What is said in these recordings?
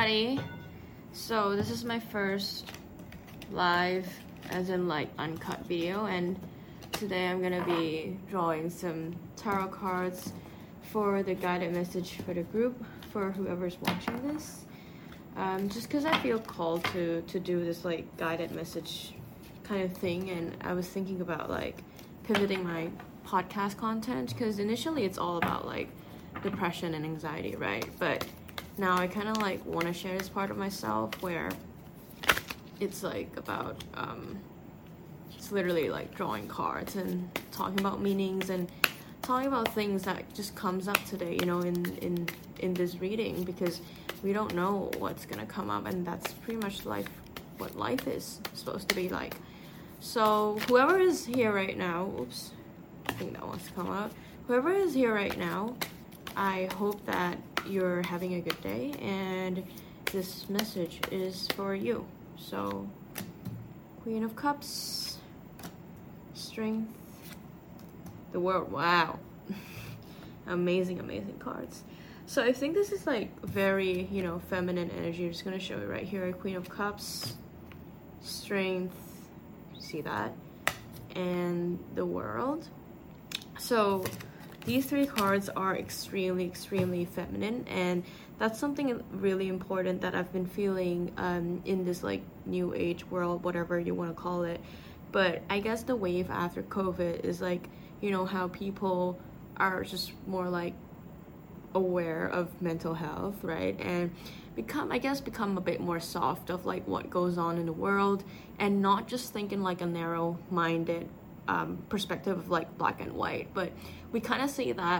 everybody. So this is my first live, as in like uncut video, and today I'm gonna be drawing some tarot cards for the guided message for the group, for whoever's watching this. Just because I feel called to do this like guided message kind of thing, and I was thinking about like pivoting my podcast content, because initially it's all about like depression and anxiety, right? But now I kind of like want to share this part of myself where it's like about it's literally like drawing cards and talking about meanings and talking about things that just comes up today, you know, in this reading, because we don't know what's gonna come up, and that's pretty much life, what life is supposed to be like. So whoever is here right now, oops, I think that wants to come up. Whoever is here right now, I hope that you're having a good day, and this message is for you. So, Queen of Cups, Strength, the World. Wow. amazing cards. So I think this is like very, you know, feminine energy. I'm just gonna show it right here. Queen of Cups, Strength, see that, and the World. So these three cards are extremely feminine, and that's something really important that I've been feeling in this like new age world, whatever you want to call it. But I guess the wave after COVID is like, you know, how people are just more like aware of mental health, right? And become a bit more soft of like what goes on in the world, and not just thinking like a narrow-minded perspective of like black and white, but we kind of see that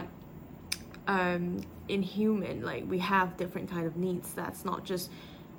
in human, like we have different kind of needs. That's not just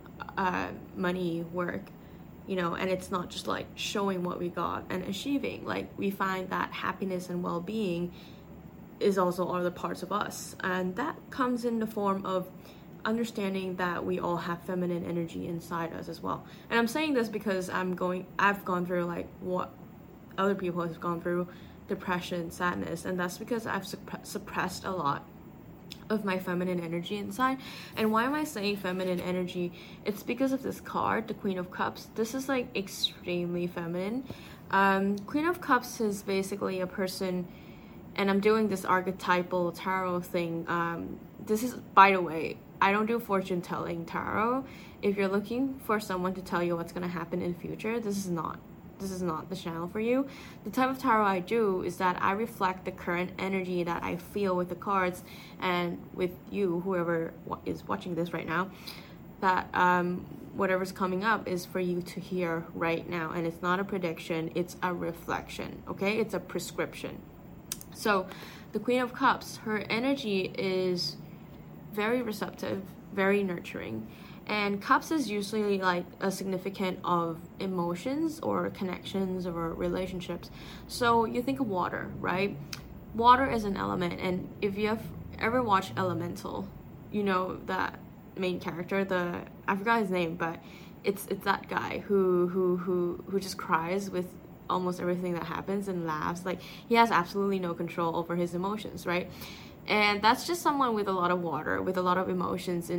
money, work, you know, and it's not just like showing what we got and achieving. Like we find that happiness and well-being is also other parts of us, and that comes in the form of understanding that we all have feminine energy inside us as well. And I'm saying this because I've gone through like what other people have gone through, depression, sadness, and that's because I've suppressed a lot of my feminine energy inside. And why am I saying feminine energy? It's because of this card, the Queen of Cups. This is like extremely feminine. Queen of Cups is basically a person, and I'm doing this archetypal tarot thing. This is, by the way, I don't do fortune telling tarot. If you're looking for someone to tell you what's going to happen in the future, this is not the channel for you. The type of tarot I do is that I reflect the current energy that I feel with the cards, and with you, whoever is watching this right now, that whatever's coming up is for you to hear right now. And it's not a prediction, it's a reflection, okay? It's a prescription. So the Queen of Cups, her energy is very receptive, very nurturing. And cups is usually like a significant of emotions or connections or relationships. So you think of water, right? Water is an element, and if you have ever watched Elemental, you know that main character, I forgot his name, but it's that guy who just cries with almost everything that happens and laughs. Like he has absolutely no control over his emotions, right? And that's just someone with a lot of water, with a lot of emotions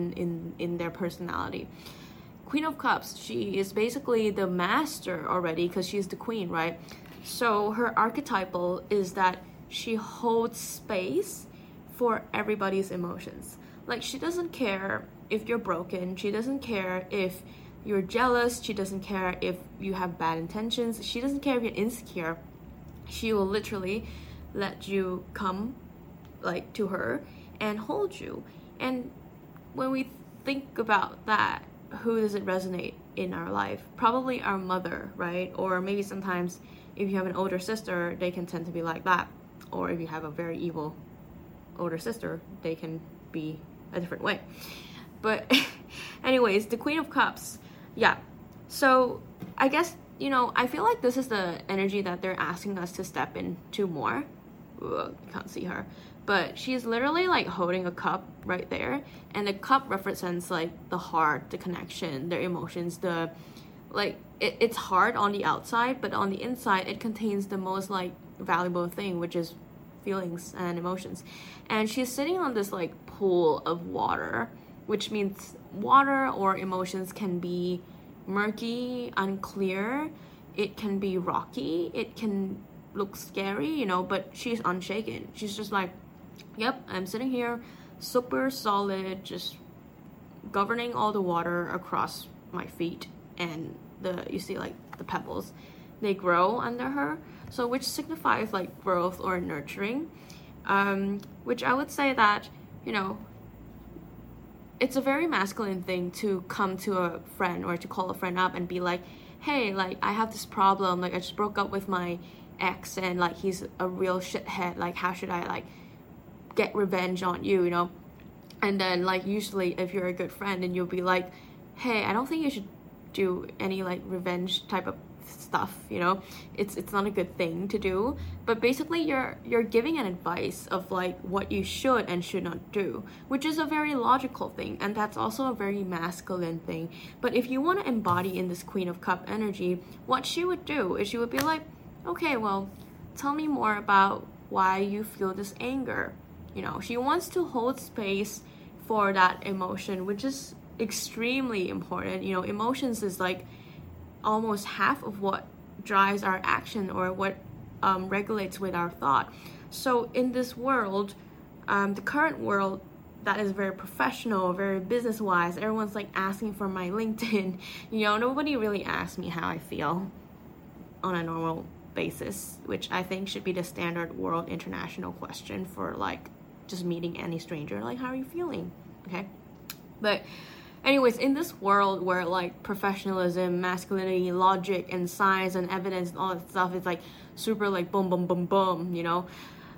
in their personality. Queen of Cups, she is basically the master already, because she's the queen, right? So her archetypal is that she holds space for everybody's emotions. Like she doesn't care if you're broken, she doesn't care if you're jealous, she doesn't care if you have bad intentions, she doesn't care if you're insecure. She will literally let you come like to her and hold you. And when we think about that, who does it resonate in our life? Probably our mother, right? Or maybe sometimes if you have an older sister, they can tend to be like that. Or if you have a very evil older sister, they can be a different way. But anyways, the Queen of Cups, yeah. So I guess, you know, I feel like this is the energy that they're asking us to step into more. Ugh, you can't see her, but she's literally like holding a cup right there, and the cup represents like the heart, the connection, their emotions, the like it's hard on the outside, but on the inside it contains the most like valuable thing, which is feelings and emotions. And she's sitting on this like pool of water, which means water or emotions can be murky, unclear, it can be rocky, it can look scary, you know, but she's unshaken. She's just like, yep, I'm sitting here super solid, just governing all the water across my feet, and you see like the pebbles, they grow under her, so which signifies like growth or nurturing, which I would say that, you know, it's a very masculine thing to come to a friend or to call a friend up and be like, hey, like I have this problem, like I just broke up with my ex and like he's a real shithead, like how should I like get revenge on you, you know? And then like usually if you're a good friend, and you'll be like, hey, I don't think you should do any like revenge type of stuff, you know, it's not a good thing to do. But basically you're giving an advice of like what you should and should not do, which is a very logical thing, and that's also a very masculine thing. But if you want to embody in this Queen of Cup energy, what she would do is she would be like, okay, well, tell me more about why you feel this anger. You know, she wants to hold space for that emotion, which is extremely important. You know, emotions is like almost half of what drives our action, or what regulates with our thought. So in this world, the current world that is very professional, very business wise, everyone's like asking for my LinkedIn. You know, nobody really asks me how I feel on a normal basis, which I think should be the standard world international question for like just meeting any stranger, like how are you feeling, okay? But anyways, in this world where like professionalism, masculinity, logic, and science and evidence and all that stuff is like super like boom, boom, boom, boom, you know,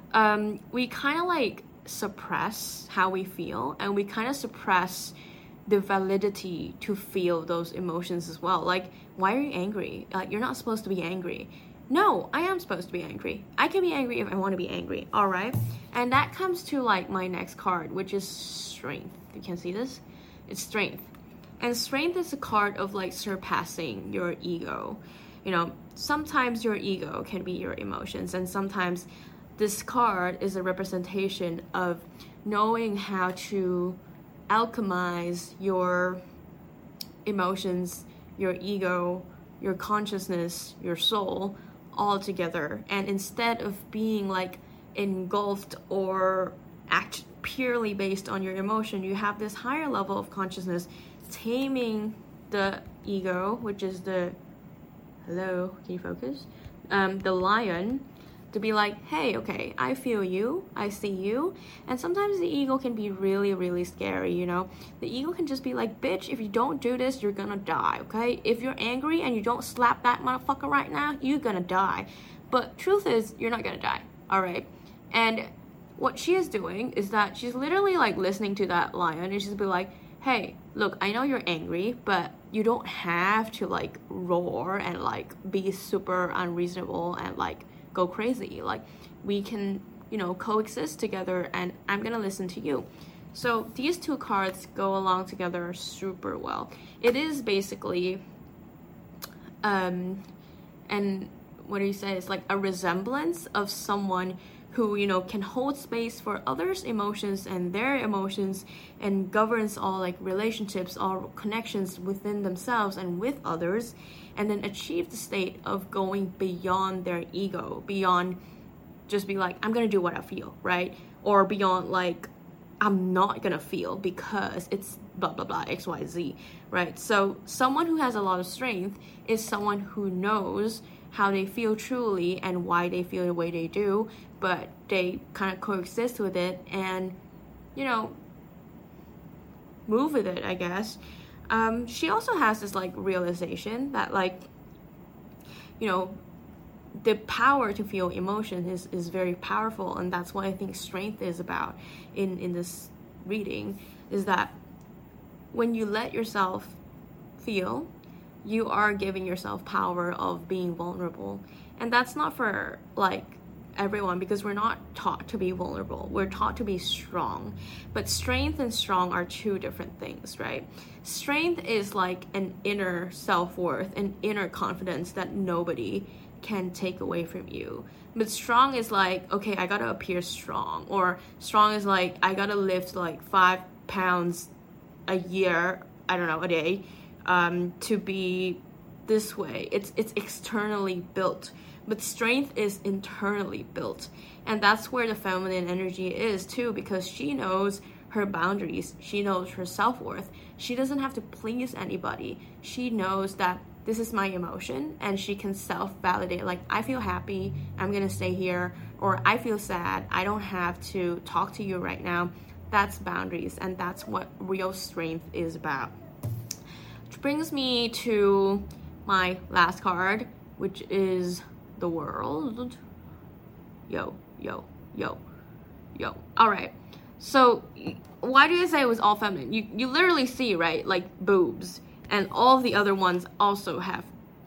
we kind of like suppress how we feel, and we kind of suppress the validity to feel those emotions as well. Like, why are you angry? Like, you're not supposed to be angry. No, I am supposed to be angry. I can be angry if I want to be angry, all right? And that comes to like my next card, which is strength. You can see this? It's strength. And strength is a card of like surpassing your ego. You know, sometimes your ego can be your emotions, and sometimes this card is a representation of knowing how to alchemize your emotions, your ego, your consciousness, your soul all together. And instead of being like engulfed or act purely based on your emotion, you have this higher level of consciousness taming the ego, which is the, hello, can you focus? The lion, to be like, hey, okay, I feel you, I see you. And sometimes the ego can be really, really scary, you know? The ego can just be like, bitch, if you don't do this, you're gonna die, okay? If you're angry and you don't slap that motherfucker right now, you're gonna die. But truth is, you're not gonna die, all right? And what she is doing is that she's literally like listening to that lion, and she's be like, hey, look, I know you're angry, but you don't have to like roar and like be super unreasonable and like go crazy. Like, we can, you know, coexist together, and I'm gonna listen to you. So these two cards go along together super well. It is basically and what do you say, it's like a resemblance of someone who, you know, can hold space for others' emotions and their emotions, and governs all like relationships, all connections within themselves and with others, and then achieve the state of going beyond their ego, beyond just be like, I'm gonna do what I feel, right? Or beyond like, I'm not gonna feel because it's blah blah blah XYZ, right? So someone who has a lot of strength is someone who knows how they feel truly and why they feel the way they do, but they kind of coexist with it and, you know, move with it, I guess. She also has this like realization that like, you know, the power to feel emotion is very powerful, and that's what I think strength is about in this reading, is that when you let yourself feel, you are giving yourself power of being vulnerable. And that's not for like everyone, because we're not taught to be vulnerable. We're taught to be strong. But strength and strong are two different things, right? Strength is like an inner self-worth, an inner confidence that nobody can take away from you. But strong is like, okay, I gotta appear strong. Or strong is like, I gotta lift like 5 pounds a year, I don't know, a day, to be this way. It's externally built, but strength is internally built. And that's where the feminine energy is too, because she knows her boundaries. She knows her self-worth. She doesn't have to please anybody. She knows that this is my emotion, and she can self-validate, like, I feel happy, I'm gonna stay here, or I feel sad, I don't have to talk to you right now. That's boundaries, and that's what real strength is about. Which brings me to my last card, which is the World. Yo. All right. So why do I say it was all feminine? You literally see, right, like boobs, and all of the other ones also have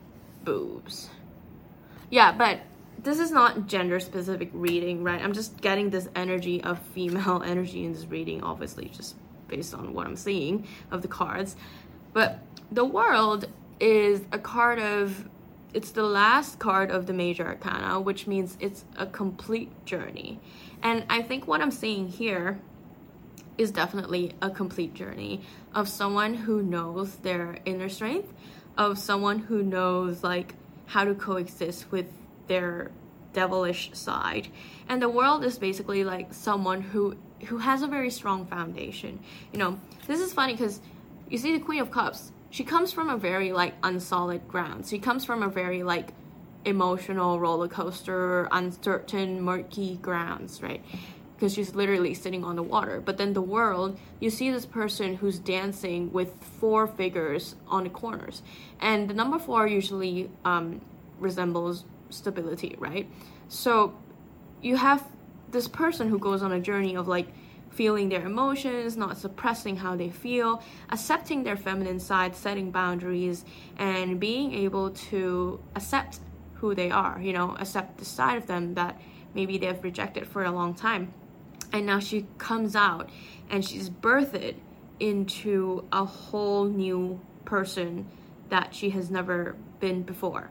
boobs. Yeah, but this is not gender specific reading, right? I'm just getting this energy of female energy in this reading, obviously, just based on what I'm seeing of the cards. But the World is a card of, it's the last card of the major arcana, which means it's a complete journey. And I think what I'm seeing here is definitely a complete journey of someone who knows their inner strength, of someone who knows like how to coexist with their devilish side. And the World is basically like someone who has a very strong foundation. You know, this is funny because you see the Queen of Cups, she comes from a very like unsolid ground. She comes from a very like emotional roller coaster, uncertain, murky grounds, right? Because she's literally sitting on the water. But then the World, you see this person who's dancing with 4 figures on the corners, and the number 4 usually resembles stability, right? So you have this person who goes on a journey of like feeling their emotions, not suppressing how they feel, accepting their feminine side, setting boundaries, and being able to accept who they are, you know, accept the side of them that maybe they've rejected for a long time. And now she comes out and she's birthed into a whole new person that she has never been before.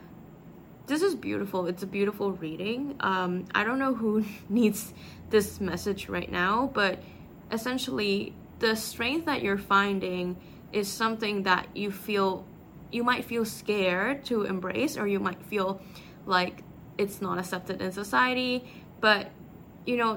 This is beautiful. It's a beautiful reading. I don't know who needs this message right now, but essentially the strength that you're finding is something that you might feel scared to embrace, or you might feel like it's not accepted in society, but you know,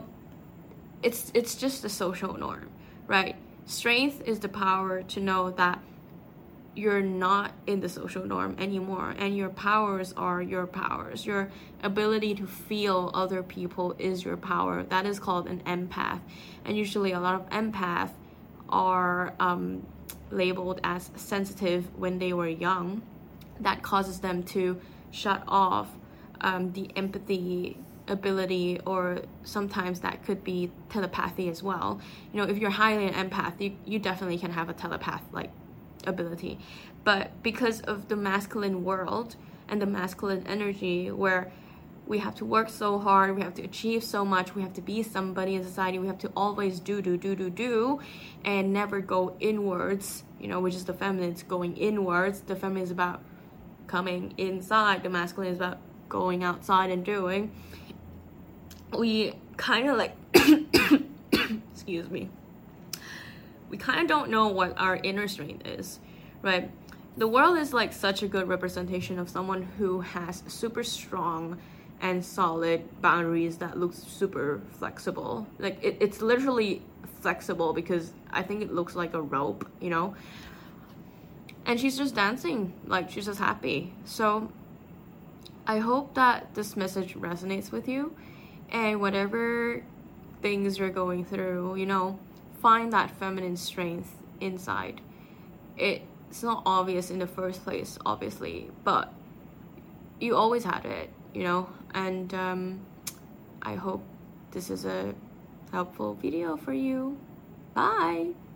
it's just a social norm, right? Strength is the power to know that you're not in the social norm anymore, and your powers are your powers. Your ability to feel other people is your power. That is called an empath. And usually a lot of empaths are labeled as sensitive when they were young. That causes them to shut off the empathy ability, or sometimes that could be telepathy as well. You know, if you're highly an empath, you definitely can have a telepath like ability. But because of the masculine world and the masculine energy, where we have to work so hard, we have to achieve so much, we have to be somebody in society, we have to always do and never go inwards, you know, which is the feminine. It's going inwards. The feminine is about coming inside, the masculine is about going outside and doing. We kind of like excuse me, we kind of don't know what our inner strength is, right? The World is like such a good representation of someone who has super strong and solid boundaries that looks super flexible. Like it's literally flexible because I think it looks like a rope, you know? And she's just dancing, like she's just happy. So I hope that this message resonates with you, and whatever things you're going through, you know, find that feminine strength inside. It's not obvious in the first place, obviously, but you always had it, you know. And I hope this is a helpful video for you. Bye.